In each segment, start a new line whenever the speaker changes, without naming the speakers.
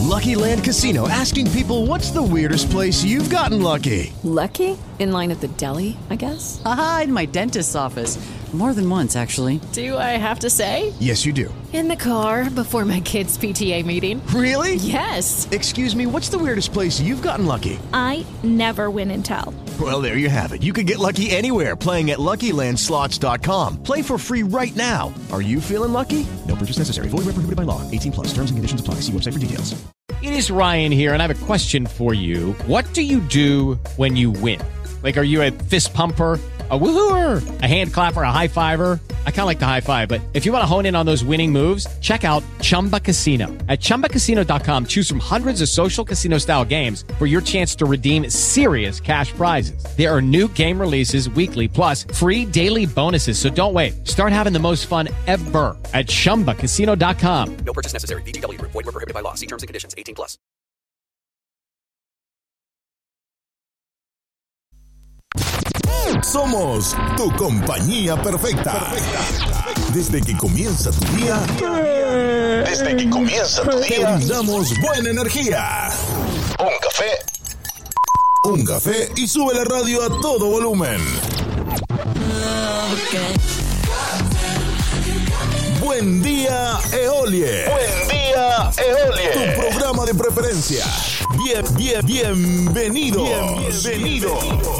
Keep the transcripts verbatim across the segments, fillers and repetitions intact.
Lucky Land Casino, asking people, what's the weirdest place you've gotten lucky?
Lucky? In line at the deli, I guess?
Aha, in my dentist's office. More than once, actually.
Do I have to say?
Yes, you do.
In the car before my kids' P T A meeting.
Really?
Yes.
Excuse me, what's the weirdest place you've gotten lucky?
I never win and tell.
Well, there you have it. You can get lucky anywhere, playing at Lucky Land Slots dot com. Play for free right now. Are you feeling lucky? No purchase necessary. Void where prohibited by law. eighteen plus. Terms and conditions apply. See website for details.
It is Ryan here, and I have a question for you. What do you do when you win? Like, are you a fist pumper, a woohooer, a hand clapper, a high fiver? I kind of like the high five, but if you want to hone in on those winning moves, check out Chumba Casino. At chumba casino dot com, choose from hundreds of social casino style games for your chance to redeem serious cash prizes. There are new game releases weekly, plus free daily bonuses. So don't wait. Start having the most fun ever at chumba casino dot com.
No purchase necessary. V G W. Void where prohibited by law. See terms and conditions. eighteen plus.
Somos tu compañía perfecta. perfecta. Desde que comienza tu día, desde que comienza tu día, te brindamos buena energía. Un café, un café y sube la radio a todo volumen. Buen día, Eolie. Buen día, Eolie. Tu programa de preferencia. Bien, bien, bienvenido. Bienvenido.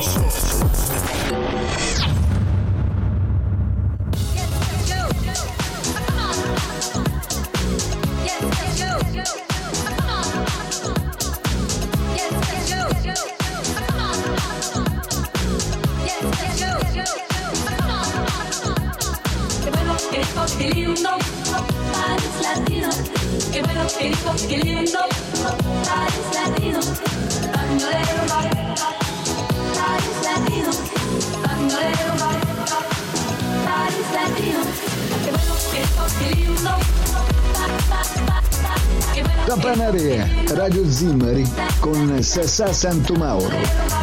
Qué lindo, Paris latino. Qué bueno, qué rico, qué lindo, Paris latino. Bandolero, Paris latino. Bandolero, Paris latino. Qué bueno, qué rico, qué lindo.
Campanarie, Radio Zimmari con Sassà Santomauro.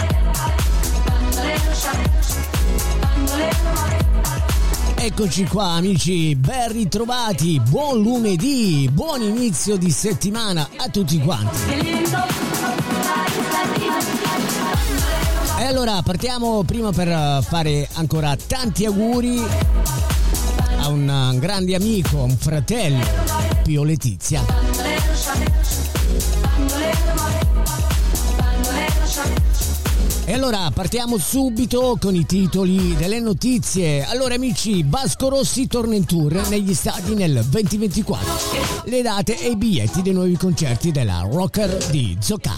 Eccoci qua amici, ben ritrovati, buon lunedì, buon inizio di settimana a tutti quanti. E allora partiamo prima per fare ancora tanti auguri a un grande amico, a un fratello, Pio Letizia. E allora partiamo subito con i titoli delle notizie. Allora amici, Vasco Rossi torna in tour negli stadi nel duemilaventiquattro. Le date e i biglietti dei nuovi concerti della rocker di Zocca.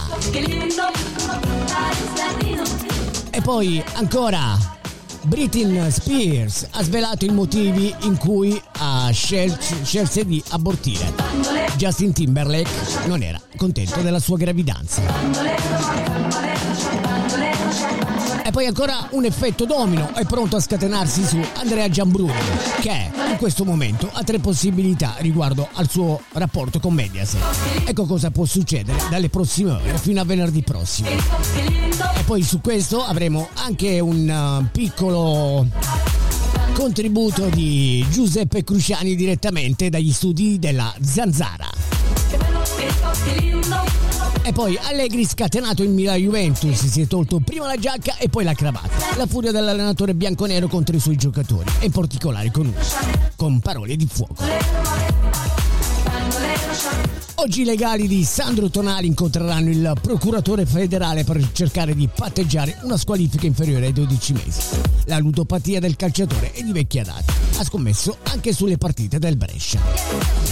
E poi ancora Britney Spears ha svelato i motivi in cui ha scelto, scelse di abortire. Justin Timberlake non era contento della sua gravidanza. E poi ancora un effetto domino è pronto a scatenarsi su Andrea Giambruni, che in questo momento ha tre possibilità riguardo al suo rapporto con Mediaset. Ecco cosa può succedere dalle prossime ore fino a venerdì prossimo. E poi su questo avremo anche un piccolo contributo di Giuseppe Cruciani direttamente dagli studi della Zanzara. E poi Allegri scatenato in Milan Juventus, si è tolto prima la giacca e poi la cravatta. La furia dell'allenatore bianconero contro i suoi giocatori, e in particolare con uno, con parole di fuoco. Oggi i legali di Sandro Tonali incontreranno il procuratore federale per cercare di patteggiare una squalifica inferiore ai dodici mesi. La ludopatia del calciatore è di vecchia data, ha scommesso anche sulle partite del Brescia.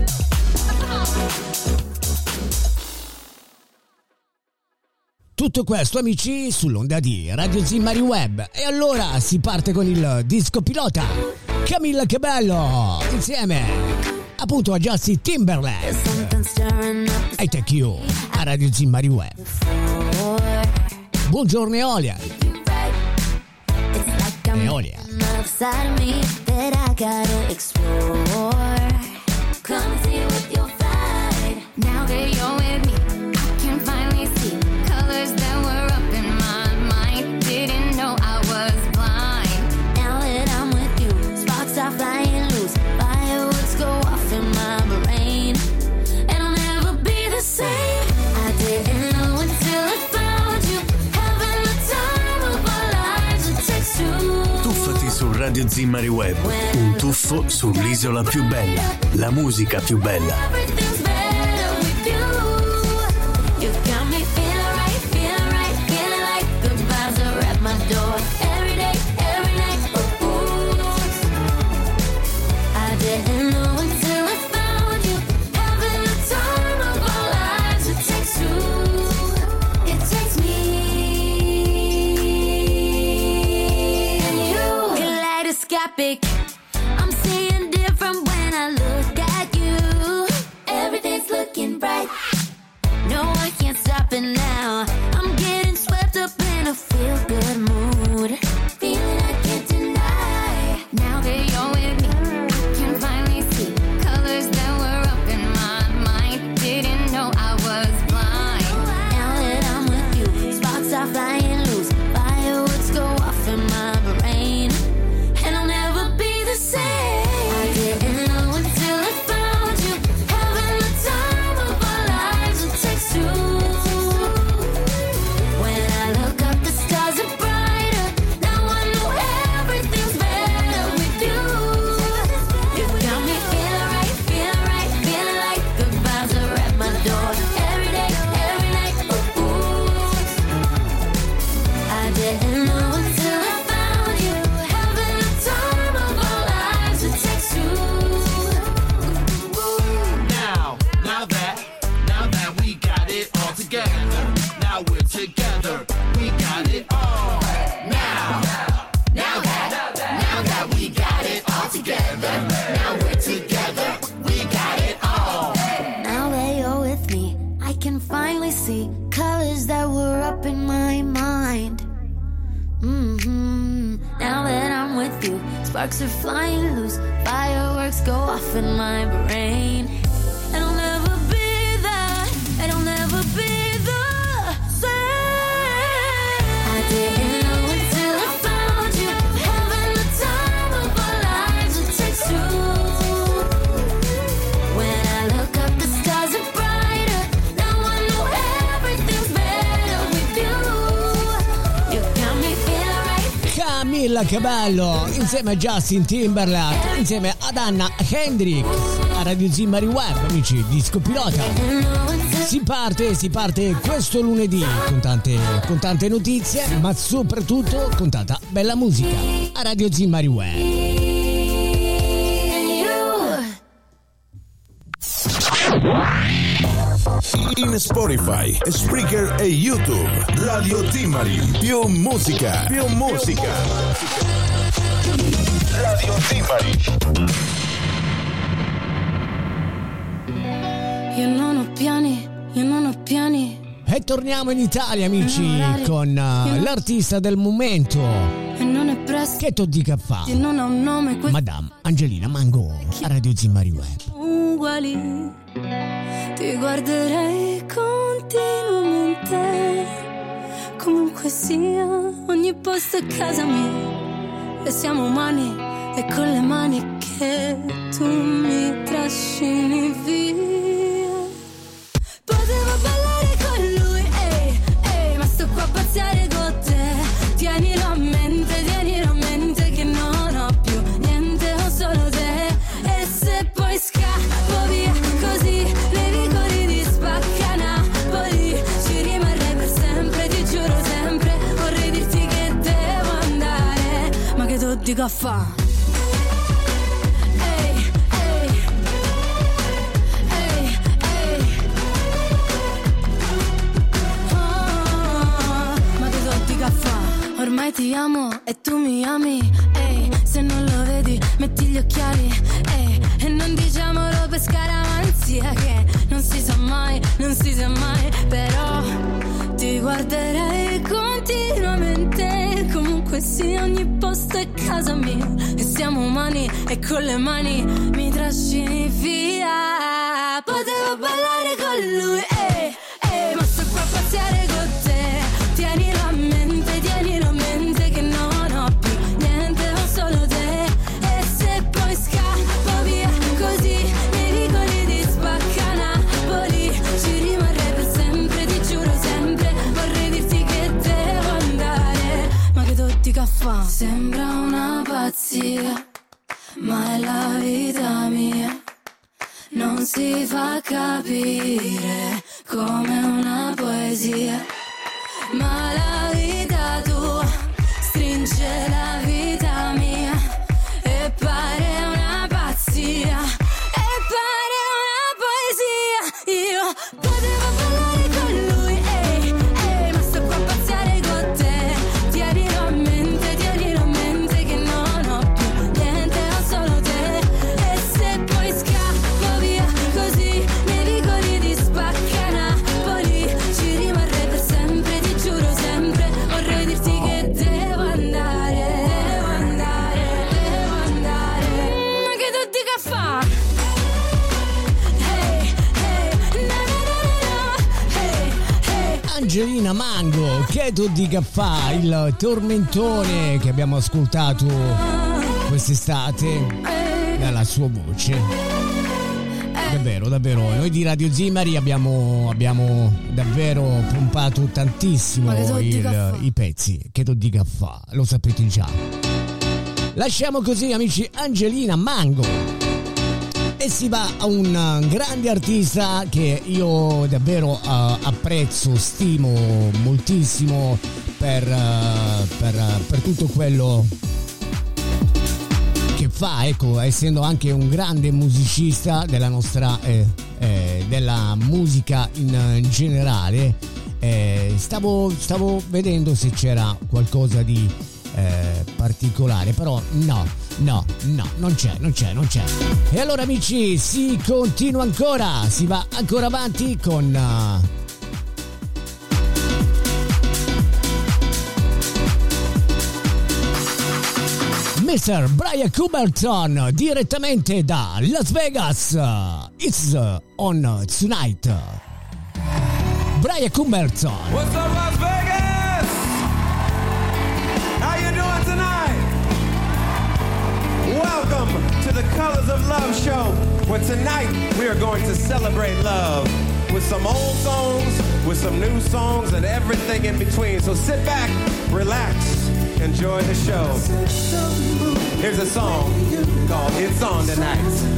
Tutto questo amici sull'onda di Radio Zimmari Web. E allora si parte con il disco pilota Camilla Cabello insieme appunto a Justin Timberlake I Take You a Radio Zimmari Web. Buongiorno Eolia. Eolia.
Now that you're with me, I can finally see colors that were up in my mind. Didn't know I was blind. Now that I'm with you, sparks are flying loose. Fireworks go off in my brain, and I'll never be the same.
Radio Zimmari Web, un tuffo sull'isola più bella, la musica più bella.
I'm seeing different when I look at you. Everything's looking bright. No, I can't stop it now. I'm getting swept up in a feel-good mood. Feeling I can't deny. Now that you're with me, I can finally see colors that were up in my mind. Didn't know I was blind. Now that I'm with you, sparks are flying loose. Fireworks go off in my brain. And I'll never be the same. I didn't know until I found you. Having the time of our lives, it takes two. When I look up, the stars are brighter. Now I know everything's better with you. You got me feeling right, feeling right, feeling like the vibes are at my door. Every day, every night, ooh, ooh. I didn't know until I found you. Having the time of our lives, it takes two.
Now, now that, now that we got it all together. Now we're together, we got it all. Now, now that, now that we got it all together. Now we're together, we got it all.
Now that you're with me, I can finally see colors that were up in my mind. Mm-hmm. Now that I'm with you, sparks are flying loose. Fireworks go off in my brain. And I'll never be that, and I'll never be the same. I didn't know until I found you. Having the time of our lives, it takes two. When I look up, the stars are brighter. Now I know everything's better with you. You got me feeling right.
Camilla Cabello insieme a Justin Timberlake, insieme ad Anna Kendrick a Radio Zimmari Web, amici, disco pilota. Si parte, si parte questo lunedì con tante, con tante notizie, ma soprattutto con tanta bella musica a Radio Zimmari Web.
In Spotify, Spreaker e YouTube. Radio Zimmari. Più musica. Più musica. Radio Zimmari.
Io non ho piani, io non ho piani.
E torniamo in Italia, amici, con uh, l'artista del momento.
E non è presto.
Che tu dica fa?
E non ha un nome. Que-
Madame Angelina Mango a Radio Zimmari Web.
Uguali. Ti guarderei continuamente. Comunque sia, ogni posto è casa mia. E siamo umani, e con le mani che tu mi trascini via. Potevo ballare con lui, ehi, ehi, ma sto qua a pazziare con te. Tienilo a mente, tienilo a mente che non ho più niente, ho solo te. E se poi scappo via così, nei vicoli di Spacca Napoli, ci rimarrei per sempre, ti giuro sempre. Vorrei dirti che devo andare, ma che tu dico a fa'? Ormai ti amo e tu mi ami, ehi, se non lo vedi metti gli occhiali, ehi, e non diciamolo per scaramanzia che non si sa mai, non si sa mai, però ti guarderei continuamente, comunque sia ogni posto è casa mia, e siamo umani e con le mani mi trascini via. Potevo ballare con lui, ehi, ehi, ma sto qua a pazziare con te. Tienilo a mente, tienilo a mente che non ho più niente, ho solo te. E se poi scappo via così, nei vicoli di Spacca Napoli, ci rimarrei per sempre, ti giuro sempre. Vorrei dirti che devo andare, ma che tu dica fa'? Sembra una pazzia fantasia, ma è la vita mia. Non si fa capire come una poesia, ma la vita tua stringe la vita mia e pare una pazzia, e pare una poesia. Io potevo parlare con lui, ehi, ehi, ma sto qua a pazziare con te. Tienilo a mente, tienilo a mente che non ho più niente, ho solo te. E se poi scappo via così nei vicoli di Spacca Napoli, ci rimarrei per sempre, ti giuro sempre. Vorrei dirti che devo andare, devo andare, devo andare. Ma che tu dica fa? Hey, hey, na na na na, hey, hey.
Angelina Mango, che tu dica fa, il tormentone che abbiamo ascoltato quest'estate dalla sua voce. Davvero, davvero, noi di Radio Zimari abbiamo, abbiamo davvero pompato tantissimo il, i pezzi. Che tu dica fa, lo sapete già. Lasciamo così, amici, Angelina Mango e si va a un grande artista che io davvero uh, apprezzo, stimo moltissimo per, uh, per, uh, per tutto quello che fa, ecco, essendo anche un grande musicista della nostra eh, eh, della musica in, in generale. eh, stavo, stavo vedendo se c'era qualcosa di eh, particolare, però no, no, no, non c'è, non c'è, non c'è. E allora, amici, si continua ancora, si va ancora avanti con uh, mister Brian Cumberton direttamente da Las Vegas. It's on tonight. Brian Cumberton.
What's up, Las Vegas? How you doing tonight? Welcome to the Colors of Love show, where tonight we are going to celebrate love with some old songs, with some new songs, and everything in between. So sit back, relax, enjoy the show. Here's a song called It's On Tonight.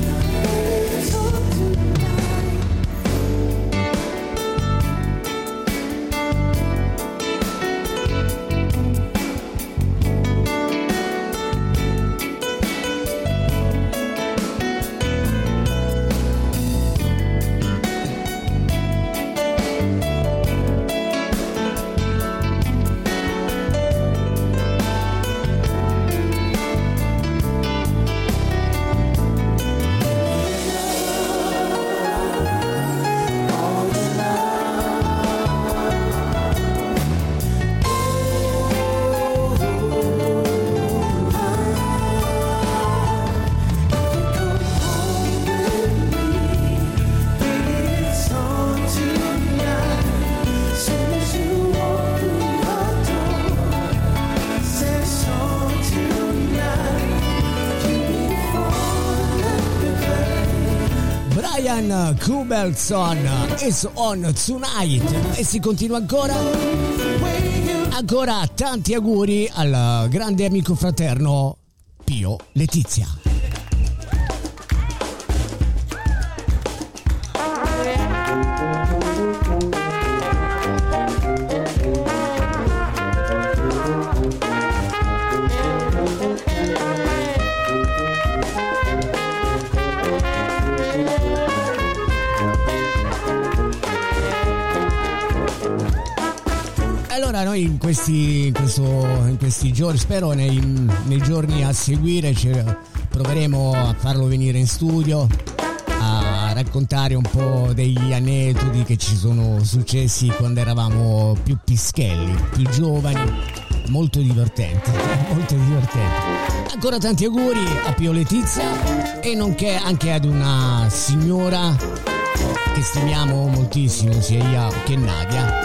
Cumberton is on tonight. E si continua ancora. Ancora tanti auguri al grande amico fraterno Pio Letizia. Allora noi in questi, in questo, in questi giorni, spero nei, nei giorni a seguire, ci proveremo a farlo venire in studio a raccontare un po' degli aneddoti che ci sono successi quando eravamo più pischelli, più giovani. Molto divertente, molto divertente. Ancora tanti auguri a Pio Letizia e nonché anche ad una signora che stimiamo moltissimo, sia io che Nadia.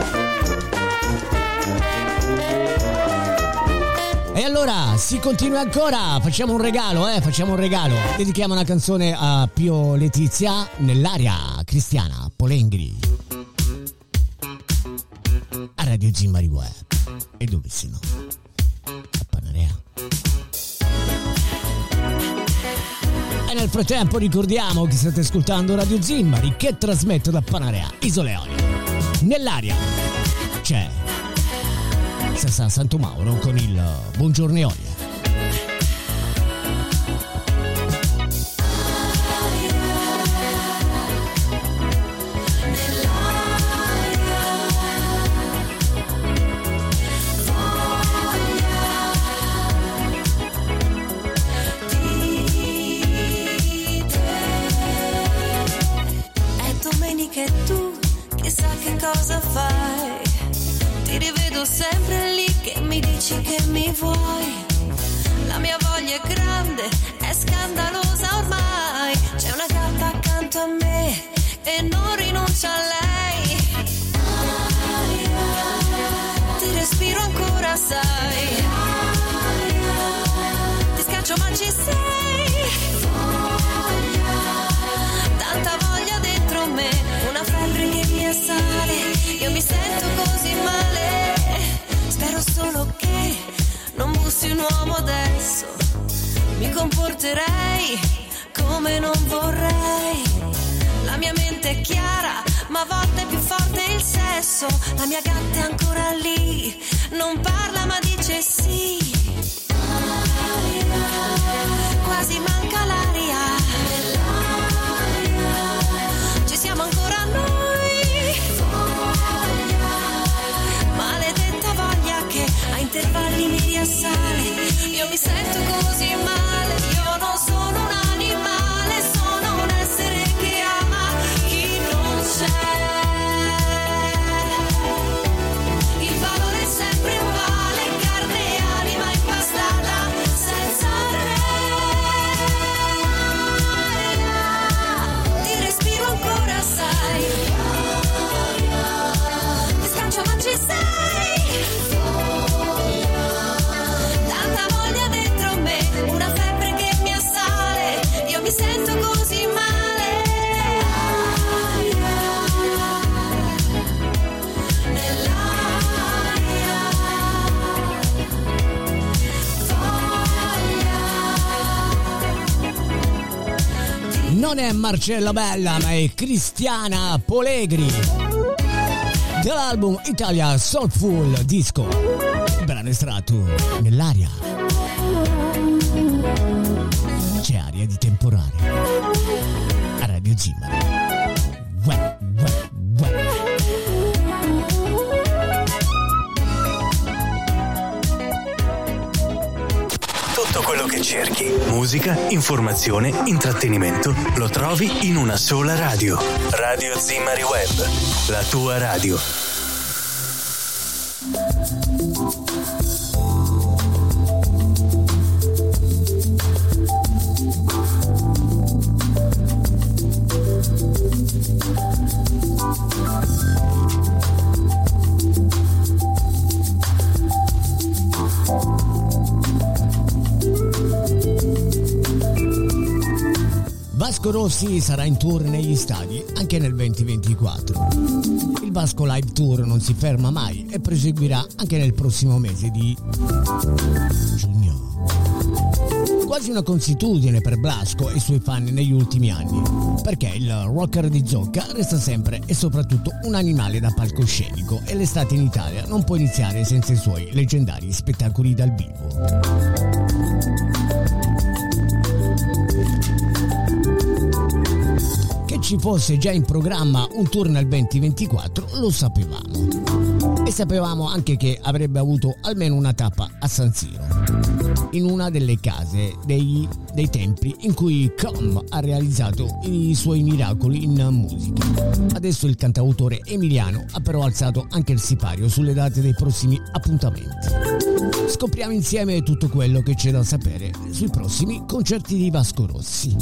E allora si continua ancora, facciamo un regalo, eh, facciamo un regalo. Dedichiamo una canzone a Pio Letizia nell'area cristiana Polengri. A Radio Zimari Web. E dove se no? A Panarea. Nel frattempo ricordiamo che state ascoltando Radio Zimmari, che trasmette da Panarea, Isole Eolie. Nell'aria c'è Sassà Santomauro con il Buongiorno Eolia.
Cosa fai? Ti rivedo sempre lì che mi dici che mi vuoi. La mia voglia è grande, è scandalosa ormai. C'è una gatta accanto a me e non rinuncio a lei. Ti respiro ancora, sai. Ti scaccio ma ci sei. Tanta voglia dentro me, una febbre che mi assale. Io mi sento così male. Spero solo che non bussi un uomo adesso. Mi comporterei come non vorrei. La mia mente è chiara, ma a volte è più forte il sesso. La mia gatta è ancora lì, non parla ma dice sì. Quasi manca l'aria. Ci siamo ancora noi. Maledetta voglia che a intervalli mi riassale. Io mi sento così male. Io non sono un animale, sono un essere che ama chi non c'è. Il valore è sempre uguale, carne e anima impastata senza re. Ti respiro ancora, sai. Ti scaccio ma ci sei. Tanta voglia dentro me, una febbre che mi assale. Io mi sento così male.
Non è Marcella Bella, ma è Cristiana Polegri dell'album Italia Soulful Disco. Brano estratto Nell'aria. C'è aria di temporale a Radio Zimmari. Uè, uè, uè.
Tutto quello che cerchi, musica, informazione, intrattenimento, lo trovi in una sola radio. Radio Zimmari Web, la tua radio.
Vasco Rossi sarà in tour negli stadi anche nel venti ventiquattro. Il Vasco Live Tour non si ferma mai e proseguirà anche nel prossimo mese di giugno. Quasi una consuetudine per Blasco e i suoi fan negli ultimi anni, perché il rocker di Zocca resta sempre e soprattutto un animale da palcoscenico e l'estate in Italia non può iniziare senza i suoi leggendari spettacoli dal vivo. Ci fosse già in programma un tour nel venti ventiquattro lo sapevamo, e sapevamo anche che avrebbe avuto almeno una tappa a San Siro, in una delle case dei, dei templi in cui Com ha realizzato i suoi miracoli in musica. Adesso il cantautore emiliano ha però alzato anche il sipario sulle date dei prossimi appuntamenti. Scopriamo insieme tutto quello che c'è da sapere sui prossimi concerti di Vasco Rossi.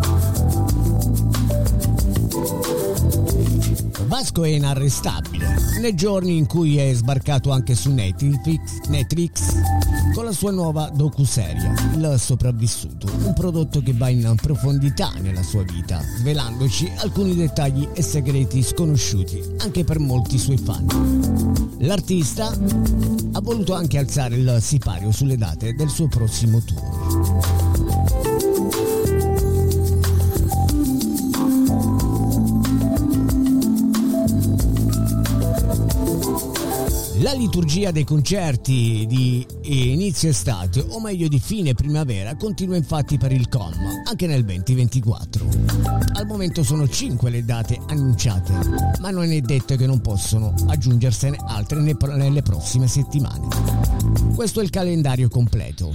Vasco è inarrestabile, nei giorni in cui è sbarcato anche su Netflix, Netflix con la sua nuova docuserie Il sopravvissuto, un prodotto che va in profondità nella sua vita, svelandoci alcuni dettagli e segreti sconosciuti anche per molti suoi fan. L'artista ha voluto anche alzare il sipario sulle date del suo prossimo tour. La liturgia dei concerti di inizio estate, o meglio di fine primavera, continua infatti per il C O M, anche nel venti ventiquattro. Al momento sono cinque le date annunciate, ma non è detto che non possono aggiungersene altre nelle prossime settimane. Questo è il calendario completo.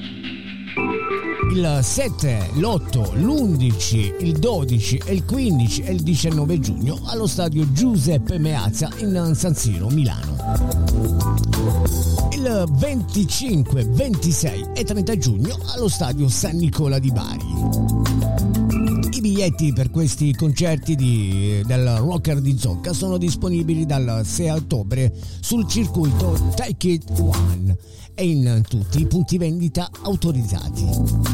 Il sette, l'otto, l'undici, il dodici, il quindici e il diciannove giugno allo stadio Giuseppe Meazza in San Siro, Milano. Il venticinque, ventisei e trenta giugno allo stadio San Nicola di Bari. I biglietti per questi concerti di, del rocker di Zocca sono disponibili dal sei ottobre sul circuito Take It One e in tutti i punti vendita autorizzati.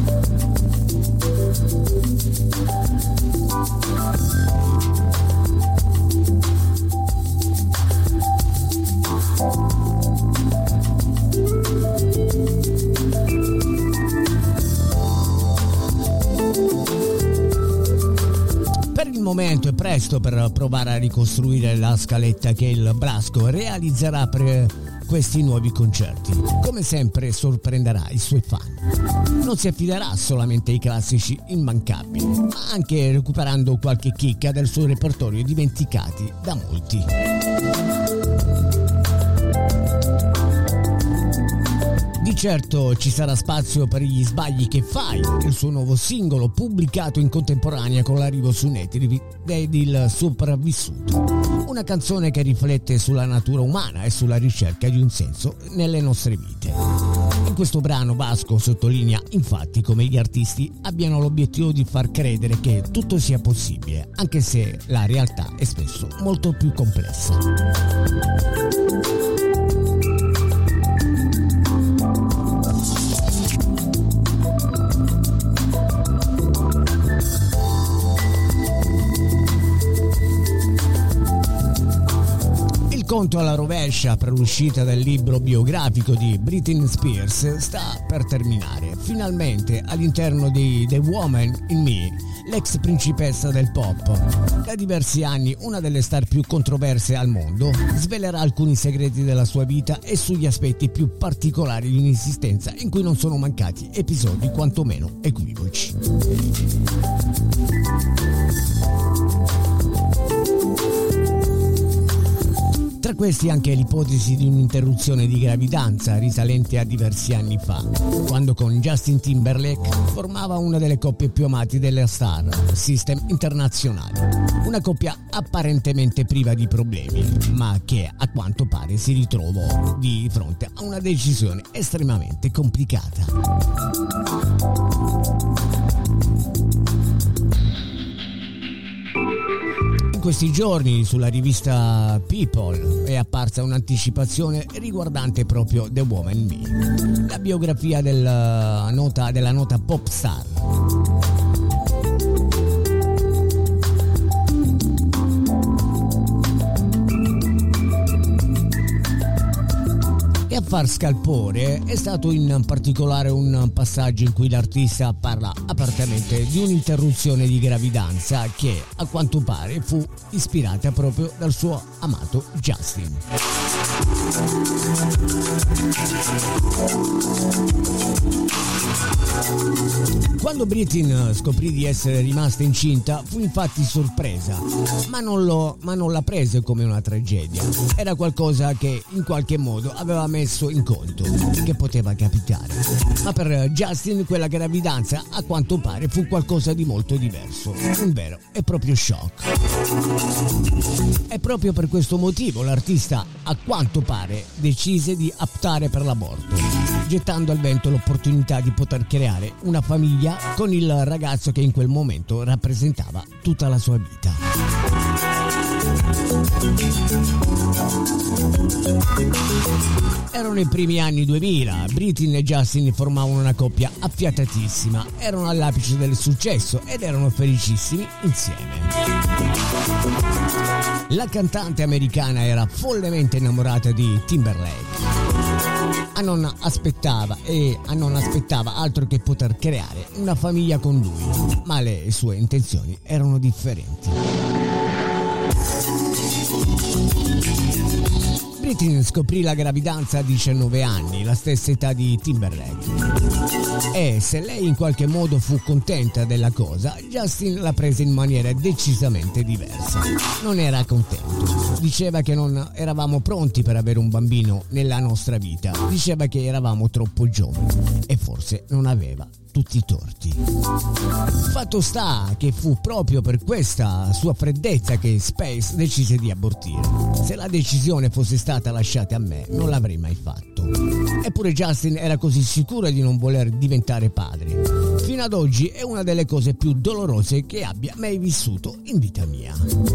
Per il momento è presto per provare a ricostruire la scaletta che il Brasco realizzerà per questi nuovi concerti. Come sempre sorprenderà i suoi fan. Non si affiderà solamente ai classici immancabili, ma anche recuperando qualche chicca del suo repertorio dimenticati da molti. Di certo ci sarà spazio per Gli sbagli che fai, il suo nuovo singolo pubblicato in contemporanea con l'arrivo su Netflix ed Il sopravvissuto, una canzone che riflette sulla natura umana e sulla ricerca di un senso nelle nostre vite. In questo brano Vasco sottolinea infatti come gli artisti abbiano l'obiettivo di far credere che tutto sia possibile, anche se la realtà è spesso molto più complessa. Il conto alla rovescia per l'uscita del libro biografico di Britney Spears sta per terminare. Finalmente all'interno di The Woman in Me, l'ex principessa del pop, da diversi anni una delle star più controverse al mondo, svelerà alcuni segreti della sua vita e sugli aspetti più particolari di un'esistenza in cui non sono mancati episodi quantomeno equivoci. Tra questi anche l'ipotesi di un'interruzione di gravidanza risalente a diversi anni fa, quando con Justin Timberlake formava una delle coppie più amate della star System internazionale. Una coppia apparentemente priva di problemi, ma che a quanto pare si ritrovò di fronte a una decisione estremamente complicata. In questi giorni sulla rivista People è apparsa un'anticipazione riguardante proprio The Woman in Me, la biografia della nota, della nota pop star. E a far scalpore è stato in particolare un passaggio in cui l'artista parla apertamente di un'interruzione di gravidanza che a quanto pare fu ispirata proprio dal suo amato Justin. Quando Britney scoprì di essere rimasta incinta fu infatti sorpresa, ma non, lo, ma non la prese come una tragedia. Era qualcosa che in qualche modo aveva messo in conto, che poteva capitare. Ma per Justin quella gravidanza a quanto pare fu qualcosa di molto diverso, un vero e proprio shock. E proprio per questo motivo l'artista a quanto pare decise di optare per l'aborto, gettando al vento l'opportunità di poter creare una famiglia con il ragazzo che in quel momento rappresentava tutta la sua vita. Erano i primi anni duemila, Britney e Justin formavano una coppia affiatatissima, erano all'apice del successo ed erano felicissimi insieme. La cantante americana era follemente innamorata di Timberlake. A non aspettava e a non aspettava altro che poter creare una famiglia con lui, ma le sue intenzioni erano differenti. Britney scoprì la gravidanza a diciannove anni, la stessa età di Timberlake. E se lei in qualche modo fu contenta della cosa, Justin la prese in maniera decisamente diversa. Non era contento. Diceva che non eravamo pronti per avere un bambino nella nostra vita. Diceva che eravamo troppo giovani e forse non aveva tutti i torti. Fatto sta che fu proprio per questa sua freddezza che Space decise di abortire. Se la decisione fosse stata lasciata a me, non l'avrei mai fatto. Eppure Justin era così sicuro di non voler diventare padre. Fino ad oggi è una delle cose più dolorose che abbia mai vissuto in vita mia.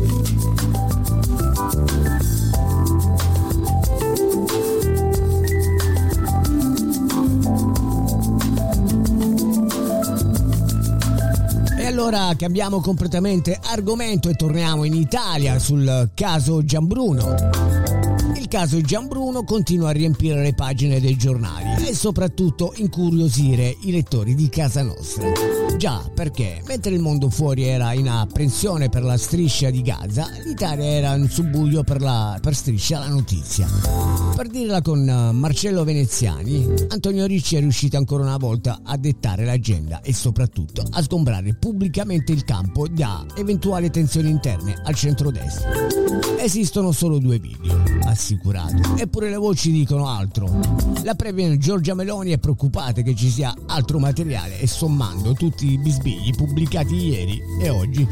E allora cambiamo completamente argomento e torniamo in Italia sul caso Gianbruno. Il caso Gianbruno continua a riempire le pagine dei giornali e soprattutto incuriosire i lettori di casa nostra. Già, perché mentre il mondo fuori era in apprensione per la striscia di Gaza, l'Italia era in subbuglio per la per striscia la notizia. Per dirla con Marcello Veneziani, Antonio Ricci è riuscito ancora una volta a dettare l'agenda e soprattutto a sgombrare pubblicamente il campo da eventuali tensioni interne al centrodestra. Esistono solo due video, assicurato, eppure le voci dicono altro. La premier Giorgia Meloni è preoccupata che ci sia altro materiale e sommando tutti i bisbigli pubblicati ieri e oggi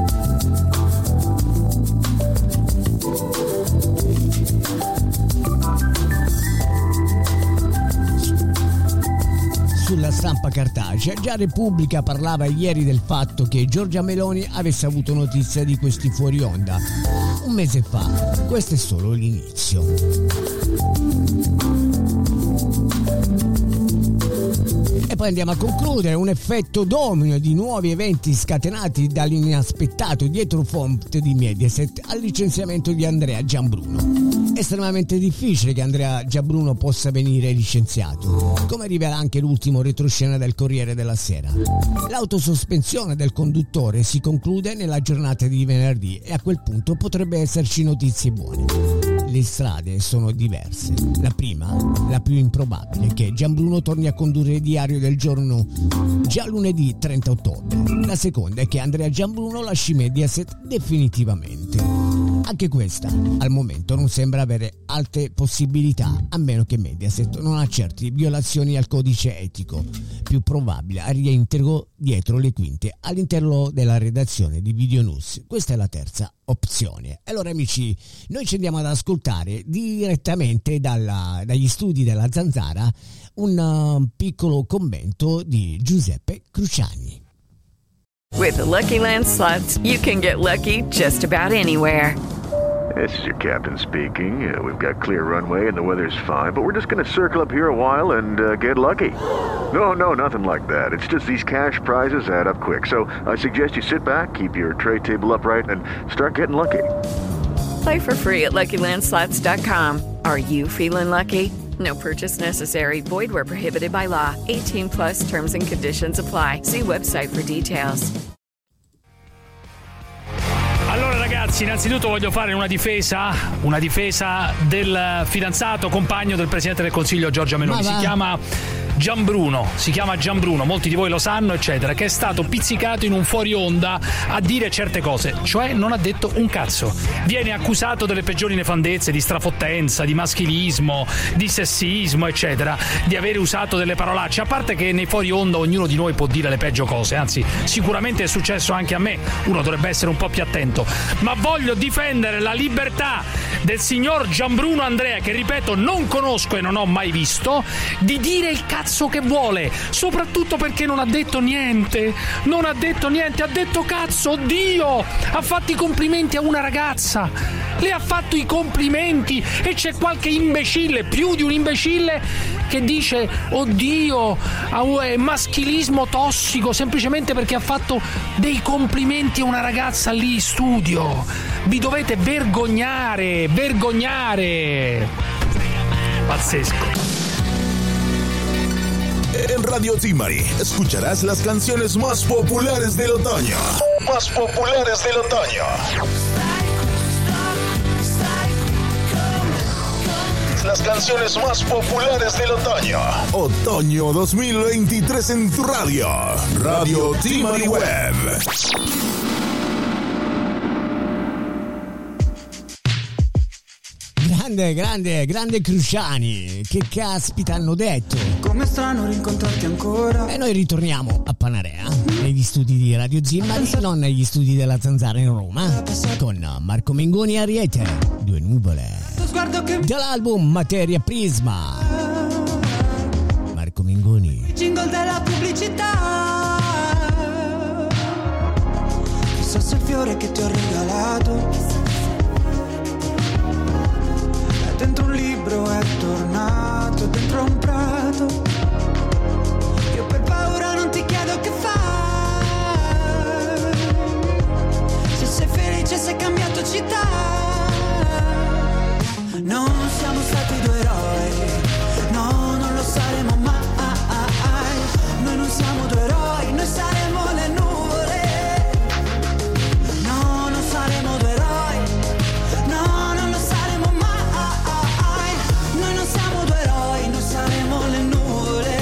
sulla stampa cartacea, già Repubblica parlava ieri del fatto che Giorgia Meloni avesse avuto notizia di questi fuori onda un mese fa. Questo è solo l'inizio. E poi andiamo a concludere un effetto domino di nuovi eventi scatenati dall'inaspettato dietrofront di Mediaset al licenziamento di Andrea Gianbruno. Estremamente difficile che Andrea Gianbruno possa venire licenziato, come rivela anche l'ultimo retroscena del Corriere della Sera. L'autosospensione del conduttore si conclude nella giornata di venerdì e a quel punto potrebbe esserci notizie buone. Le strade sono diverse. La prima, la più improbabile, è che Gianbruno torni a condurre il Diario del Giorno già lunedì trenta ottobre. La seconda è che Andrea Gianbruno lasci Mediaset definitivamente. Anche questa, al momento, non sembra avere alte possibilità, a meno che Mediaset non accerti violazioni al codice etico. Più probabile a reintegro dietro le quinte all'interno della redazione di Video News. Questa è la terza opzione. Allora amici, noi ci andiamo ad ascoltare direttamente dalla, dagli studi della Zanzara un uh, piccolo commento di Giuseppe Cruciani.
With the Lucky Land Slots, you can get lucky just about anywhere.
This is your captain speaking. Uh, we've got clear runway and the weather's fine, but we're just going to circle up here a while and uh, get lucky. No, no, nothing like that. It's just these cash prizes add up quick. So I suggest you sit back, keep your tray table upright, and start getting lucky.
Play for free at Lucky Land Slots dot com. Are you feeling lucky? No purchase necessary. Void where prohibited by law. eighteen plus terms and conditions apply. See website for details.
Allora ragazzi, innanzitutto voglio fare una difesa, una difesa del fidanzato, compagno del Presidente del Consiglio Giorgia Meloni. Si chiama Gianbruno, si chiama Gianbruno, molti di voi lo sanno, eccetera, che è stato pizzicato in un fuori onda a dire certe cose, cioè non ha detto un cazzo. Viene accusato delle peggiori nefandezze, di strafottenza, di maschilismo, di sessismo, eccetera, di avere usato delle parolacce, a parte che nei fuori onda ognuno di noi può dire le peggio cose, anzi sicuramente è successo anche a me, uno dovrebbe essere un po' più attento, ma voglio difendere la libertà del signor Gianbruno Andrea, che ripeto non conosco e non ho mai visto, di dire il cazzo cazzo che vuole, soprattutto perché non ha detto niente, non ha detto niente, ha detto cazzo, Dio, ha fatto i complimenti a una ragazza, le ha fatto i complimenti e c'è qualche imbecille, più di un imbecille, che dice oddio, è maschilismo tossico semplicemente perché ha fatto dei complimenti a una ragazza lì in studio. Vi dovete vergognare, vergognare. Pazzesco.
En Radio Zimari escucharás las canciones más populares del otoño. Más populares del otoño. Las canciones más populares del otoño. Otoño dos mil veintitrés en tu radio. Radio Zimari Web.
Grande, grande, grande Cruciani, che caspita hanno detto?
Come strano rincontrarti ancora.
E noi ritorniamo a Panarea, negli studi di Radio Zimari, non negli studi della Zanzara in Roma, con Marco Mengoni e Ariete, Due nuvole. Dall'album Materia Prisma. Marco Mengoni.
Il jingle della pubblicità. Chissà se il fiore che ti ho regalato dentro un libro è tornato, dentro un prato. Io per paura non ti chiedo che fai. Se sei felice, se hai cambiato città. Non siamo stati due eroi, no, non lo saremo mai. Noi non siamo due eroi, noi saremo le nuvole. No, non saremo due eroi, no, non lo saremo mai. Noi non siamo due eroi, noi saremo le nuvole.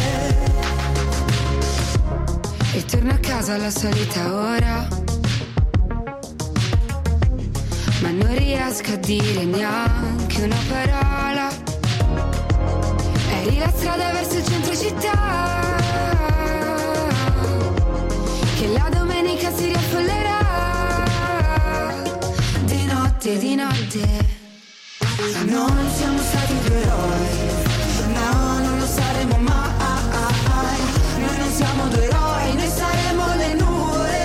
E torno a casa alla solita ora, ma non riesco a dire neanche una parola. Eri la strada verso il centro città, che la domenica si riaffollerà. Di notte, di notte. Non siamo stati due eroi, no, non lo saremo mai. Noi non siamo due eroi, noi saremo le nuvole.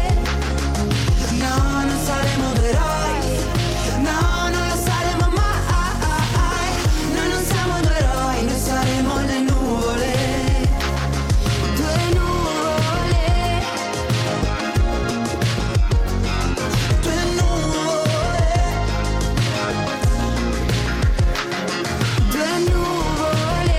No, non saremo due eroi, no, non lo saremo mai. Noi non siamo due eroi, noi saremo le nuvole. Due nuvole. Due nuvole. Due nuvole.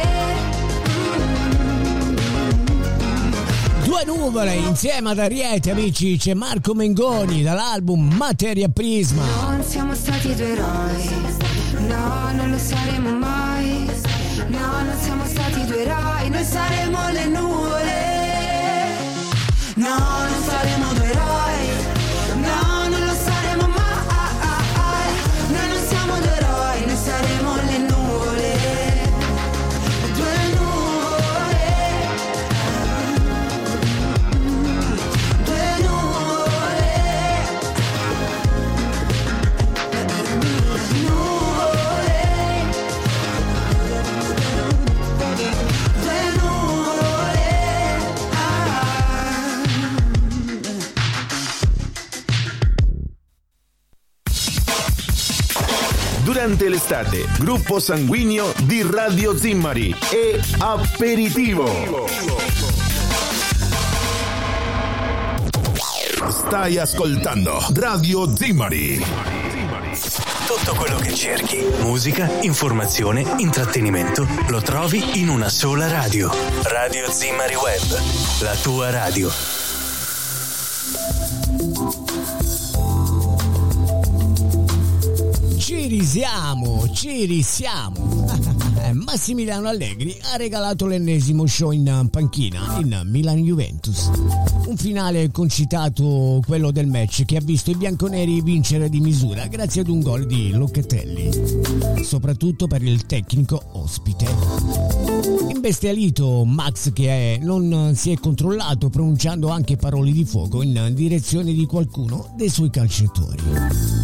Due nuvole insieme ad Ariete, amici, c'è Marco Mengoni dall'album Materia Prisma.
Non siamo stati due eroi, no, non lo saremo mai. No, non siamo stati due eroi, noi saremo le nuvole. No, non saremo due eroi, no, non lo saremo mai. Noi non siamo due eroi, noi saremo le nuvole. Due nuvole. Due nuvole. Nuvole. Due nuvole.
Durante l'estate, gruppo sanguigno di Radio Zimari e Aperitivo. Stai ascoltando Radio Zimari.
Tutto quello che cerchi, musica, informazione, intrattenimento, lo trovi in una sola radio. Radio Zimari Web, la tua radio.
Ci risiamo, ci risiamo. Massimiliano Allegri ha regalato l'ennesimo show in panchina in Milan-Juventus. Un finale concitato, quello del match, che ha visto i bianconeri vincere di misura grazie ad un gol di Locatelli, soprattutto per il tecnico ospite. Imbestialito Max, che è, non si è controllato, pronunciando anche parole di fuoco in direzione di qualcuno dei suoi calciatori.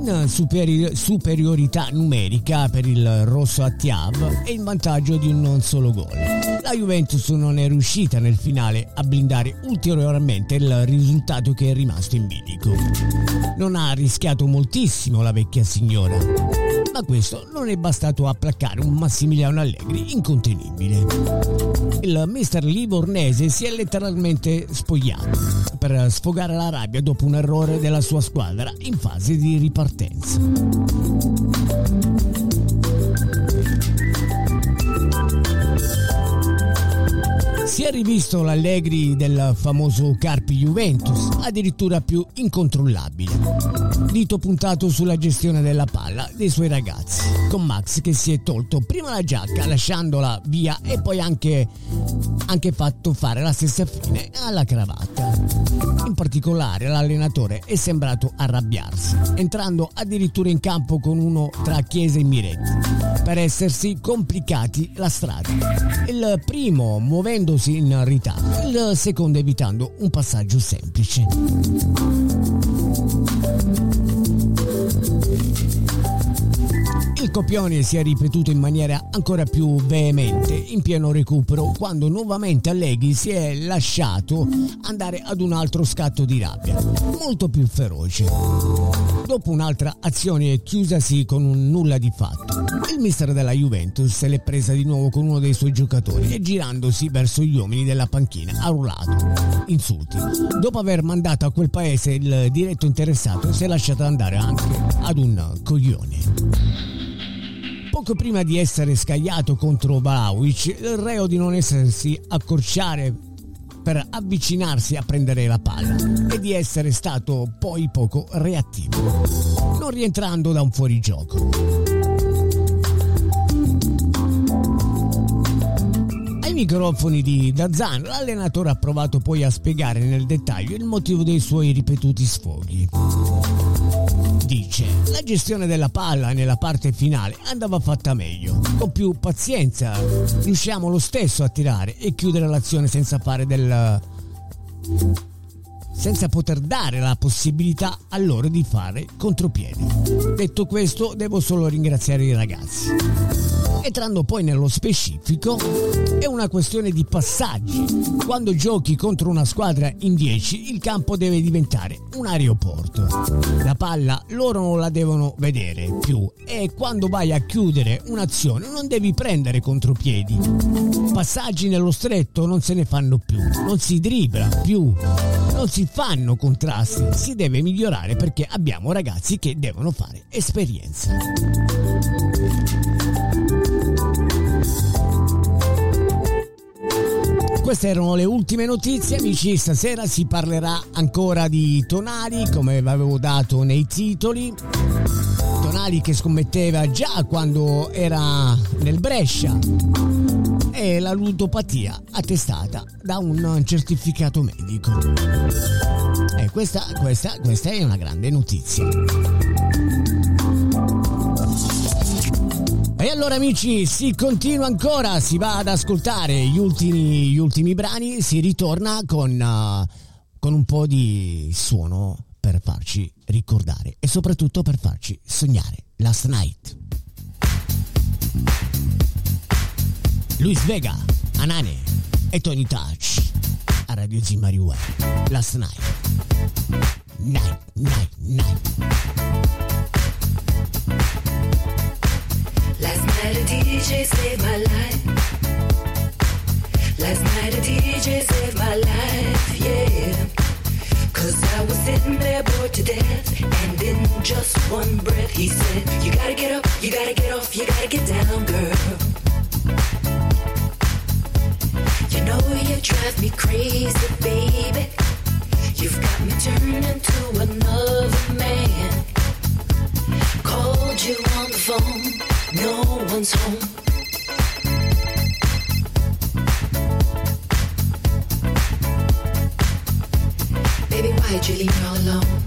in superi- superiorità numerica per il rosso a Thiav e in vantaggio di un non solo gol. La Juventus non è riuscita nel finale a blindare ulteriormente il risultato che è rimasto in bilico. Non ha rischiato moltissimo la vecchia signora, ma questo non è bastato a placare un Massimiliano Allegri incontenibile. Il mister livornese si è letteralmente spogliato per sfogare la rabbia dopo un errore della sua squadra in fase di ripartenza. Si è rivisto l'Allegri del famoso Carpi Juventus, addirittura più incontrollabile. Dito puntato sulla gestione della palla dei suoi ragazzi, con Max che si è tolto prima la giacca lasciandola via e poi anche, anche fatto fare la stessa fine alla cravatta. In particolare l'allenatore è sembrato arrabbiarsi, entrando addirittura in campo con uno tra Chiesa e Miretti, per essersi complicati la strada. Il primo muovendosi in ritardo, il secondo evitando un passaggio semplice. Il copione si è ripetuto in maniera ancora più veemente in pieno recupero, quando nuovamente Allegri si è lasciato andare ad un altro scatto di rabbia, molto più feroce. Dopo un'altra azione chiusasi con un nulla di fatto, il mister della Juventus se l'è presa di nuovo con uno dei suoi giocatori e girandosi verso gli uomini della panchina ha urlato insulti. Dopo aver mandato a quel paese il diretto interessato, si è lasciato andare anche ad un coglione. Poco prima di essere scagliato contro Vlahovic, il reo di non essersi accorciare per avvicinarsi a prendere la palla e di essere stato poi poco reattivo, non rientrando da un fuorigioco. Ai microfoni di DAZN, l'allenatore ha provato poi a spiegare nel dettaglio il motivo dei suoi ripetuti sfoghi. Dice: la gestione della palla nella parte finale andava fatta meglio, con più pazienza riusciamo lo stesso a tirare e chiudere l'azione senza fare del senza poter dare la possibilità a loro di fare contropiede. Detto questo, devo solo ringraziare i ragazzi. Entrando poi nello specifico, è una questione di passaggi. Quando giochi contro una squadra in dieci, il campo deve diventare un aeroporto. La palla loro non la devono vedere più e quando vai a chiudere un'azione non devi prendere contropiedi. Passaggi nello stretto non se ne fanno più, non si dribbla più, non si fanno contrasti, si deve migliorare perché abbiamo ragazzi che devono fare esperienza. Queste erano le ultime notizie, amici. Stasera si parlerà ancora di Tonali, come vi avevo dato nei titoli. Tonali che scommetteva già quando era nel Brescia, e la ludopatia attestata da un certificato medico. E questa, questa, questa è una grande notizia. E allora, amici, si continua ancora, si va ad ascoltare gli ultimi, gli ultimi brani, si ritorna con, uh, con un po' di suono per farci ricordare e soprattutto per farci sognare. Last Night. Luis Vega, Anane e Tony Touch a Radio Zimari Web. Last Night. Night, night, night.
Last night a D J saved my life. Last night a D J saved my life, yeah. Cause I was sitting there bored to death, and in just one breath he said, you gotta get up, you gotta get off, you gotta get down, girl. You know you drive me crazy, baby. You've got me turning to another man. Called you on the phone, no one's home. Baby, why'd you leave me all alone?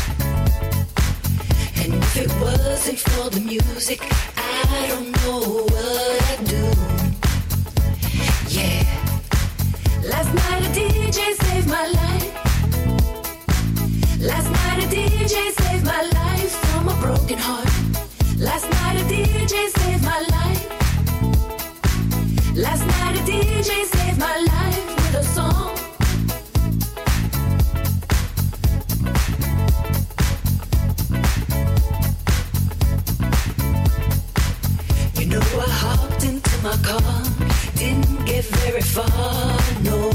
And if it wasn't for the music, I don't know what I'd do. Yeah. Last night a D J saved my life. Last night a D J saved my life from a broken Last night a D J saved my life with a song. You know I hopped into my car, didn't get very far, no.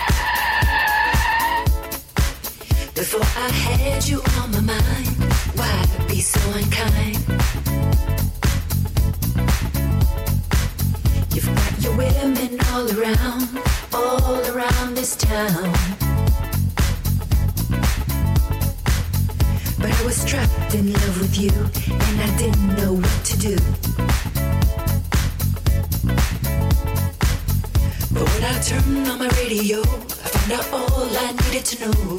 Before I had you on my mind, why be so unkind? You've got your women all around, all around this town. But I was trapped in love with you, and I didn't know what to do. But when I turned on my radio, I found out all I needed to know.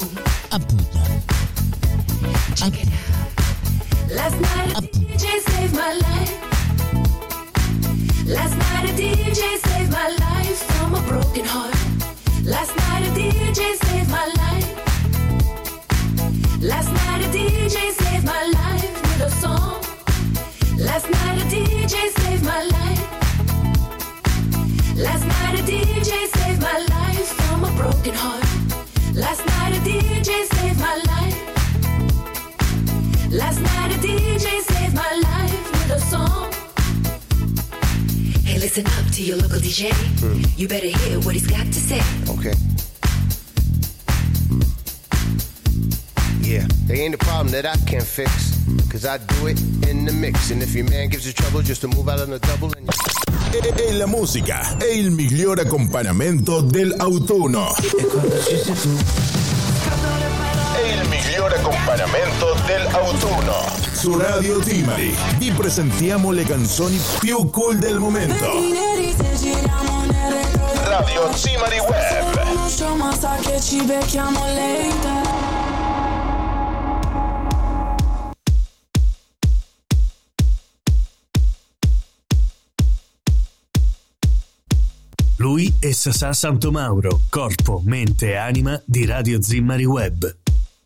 Check it out. Last night a D J saved my life. Last night a D J saved my life from a broken heart. Last night a D J saved my life. Last night a D J saved my life with a song. Last night a D J saved my life. Last night a D J saved my life from a broken heart. Last night a D J saved my life. Last night a D J saved my life with a song. Hey, listen up to your local D J. Mm. You better hear what he's got to say.
Okay. Yeah, there ain't a problem that I can't fix, cause I do it in the mix. And if your man gives you trouble, just to move out on the double and...
E la musica è il migliore accompagnamento dell'autunno. È il migliore accompagnamento dell'autunno. Su Radio Zimari vi presentiamo le canzoni più cool del momento. Radio Zimari Web.
Ma sa che ci becchiamo later.
Lui è Sasà Santomauro, corpo, mente e anima di Radio Zimari Web.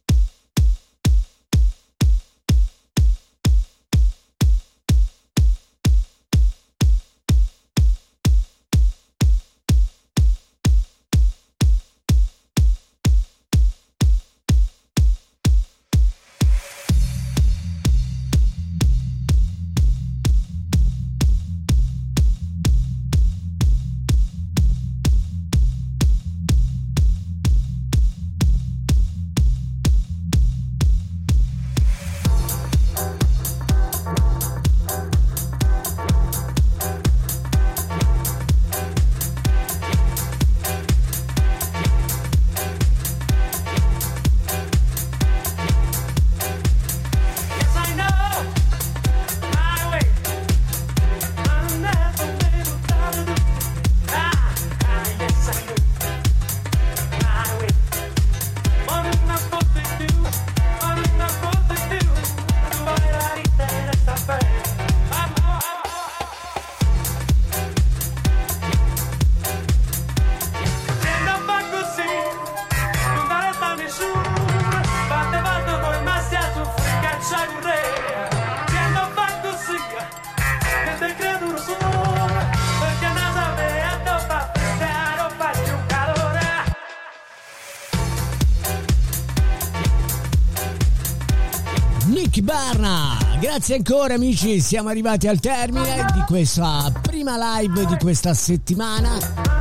Grazie ancora amici, siamo arrivati al termine di questa prima live di questa settimana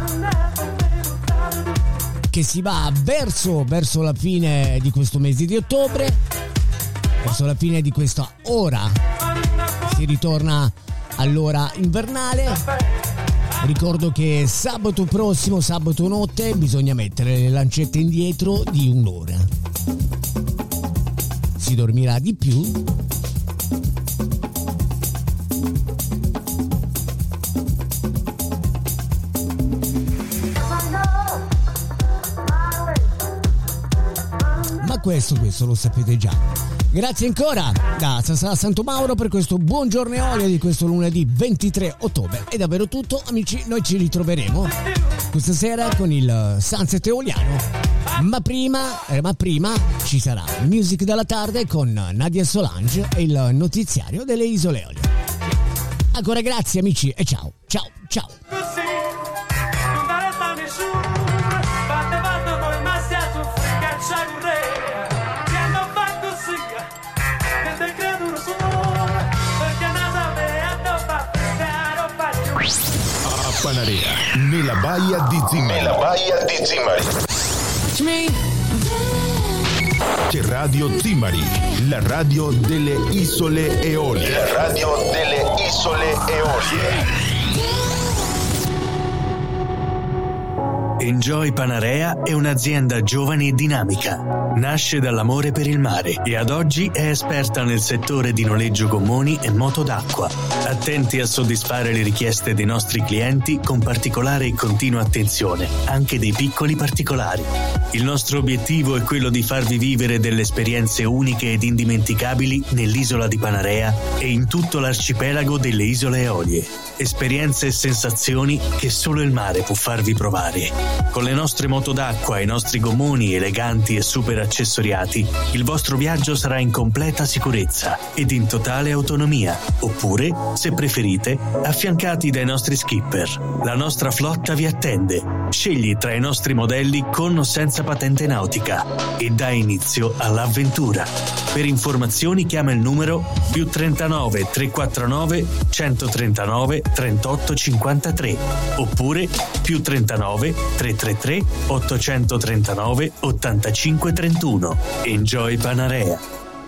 che si va verso, verso la fine di questo mese di ottobre, verso la fine di questa ora, si ritorna all'ora invernale. Ricordo che sabato prossimo, sabato notte, bisogna mettere le lancette indietro di un'ora, si dormirà di più. Questo, questo lo sapete già. Grazie ancora da Sasà Santomauro per questo buongiorno e olio di questo lunedì ventitré ottobre. È davvero tutto, amici, noi ci ritroveremo questa sera con il Sunset Eoliano, ma prima, eh, ma prima ci sarà Music della tarde con Nadia Solange e il notiziario delle Isole Eolie. Ancora grazie amici e ciao, ciao, ciao.
Panarea, nella baia di Zimari. Nella baia di Zimari. C'è Radio Zimari, la radio delle isole Eolie. La radio delle isole Eolie.
Enjoy Panarea è un'azienda giovane e dinamica. Nasce dall'amore per il mare e ad oggi è esperta nel settore di noleggio gommoni e moto d'acqua. Attenti a soddisfare le richieste dei nostri clienti con particolare e continua attenzione, anche dei piccoli particolari. Il nostro obiettivo è quello di farvi vivere delle esperienze uniche ed indimenticabili nell'isola di Panarea e in tutto l'arcipelago delle isole Eolie. Esperienze e sensazioni che solo il mare può farvi provare. Con le nostre moto d'acqua e i nostri gommoni eleganti e super accessoriati, il vostro viaggio sarà in completa sicurezza ed in totale autonomia. Oppure, se preferite, affiancati dai nostri skipper. La nostra flotta vi attende. Scegli tra i nostri modelli con o senza patente nautica e dai inizio all'avventura. Per informazioni chiama il numero più trentanove trecentoquarantanove centotrentanove trentotto cinquantatré oppure più trentanove trecentotrentatré ottocentotrentanove ottantacinque trentuno. Enjoy Panarea.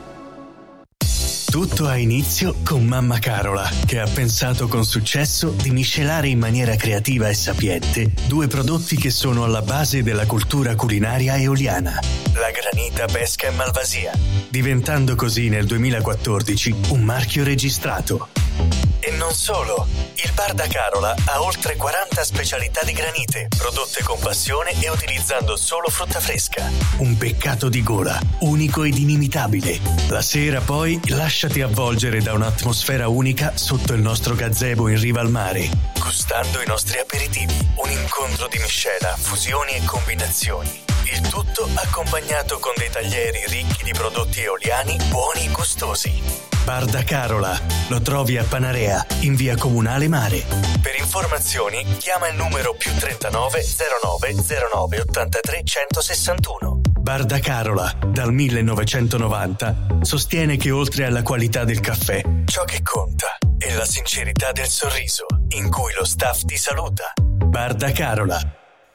Tutto ha inizio con Mamma Carola, che ha pensato con successo di miscelare in maniera creativa e sapiente due prodotti che sono alla base della cultura culinaria eoliana: la granita, pesca e malvasia, diventando così nel duemilaquattordici un marchio registrato. E non solo, il bar da Carola ha oltre quaranta specialità di granite, prodotte con passione e utilizzando solo frutta fresca. Un peccato di gola, unico ed inimitabile. La sera poi lasciati avvolgere da un'atmosfera unica sotto il nostro gazebo in riva al mare, gustando i nostri aperitivi. Un incontro di miscela, fusioni e combinazioni. Il tutto accompagnato con dei taglieri ricchi di prodotti eoliani buoni e gustosi. Bar da Carola, lo trovi a Panarea, in via Comunale Mare. Per informazioni chiama il numero più trentanove zero nove zero nove ottantatré centosessantuno. Bar da Carola, dal millenovecentonovanta, sostiene che oltre alla qualità del caffè, ciò che conta è la sincerità del sorriso, in cui lo staff ti saluta. Bar da Carola.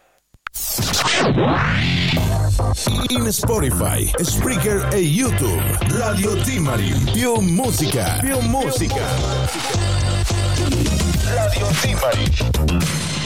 In Spotify, Spreaker e YouTube, Radio Zimari, più musica, più musica. Radio Zimari.